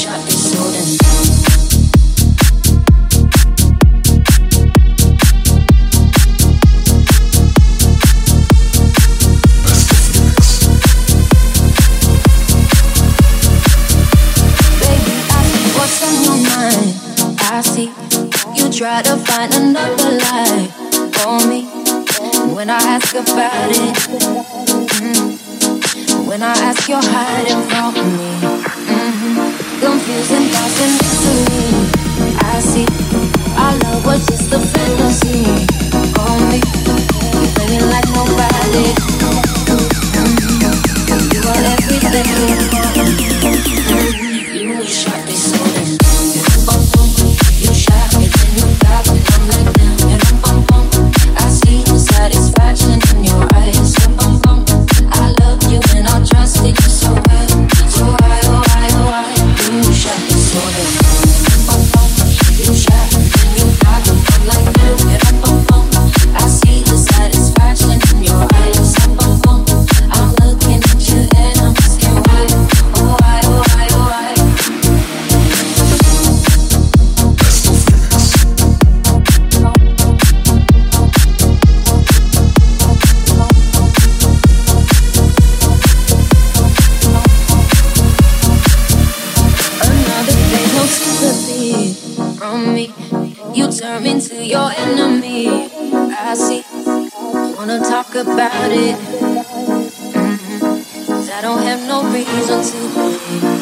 Try to find another lie for me when I ask about it. When I ask, you're hiding from me. Confusing thoughts and mystery. I see our love was just a fantasy. For me, you play me like nobody. You are everything. You shot me so in. You shot me, then you got me. I'm like damn. And bum bum. I see the satisfaction in your eyes. And bum bum. I love you and I trust it so well. So why, oh why, oh why? You shot me so in. Bum bum. You shot me, then you got me. I'm like damn. And bum bum. I see the satisfaction in your eyes. And bum bum. I'm looking at you and I'm asking why. Oh why, oh why, oh why? From me, you turn into your enemy. I see, wanna talk about it. 'Cause I don't have no reason to believe.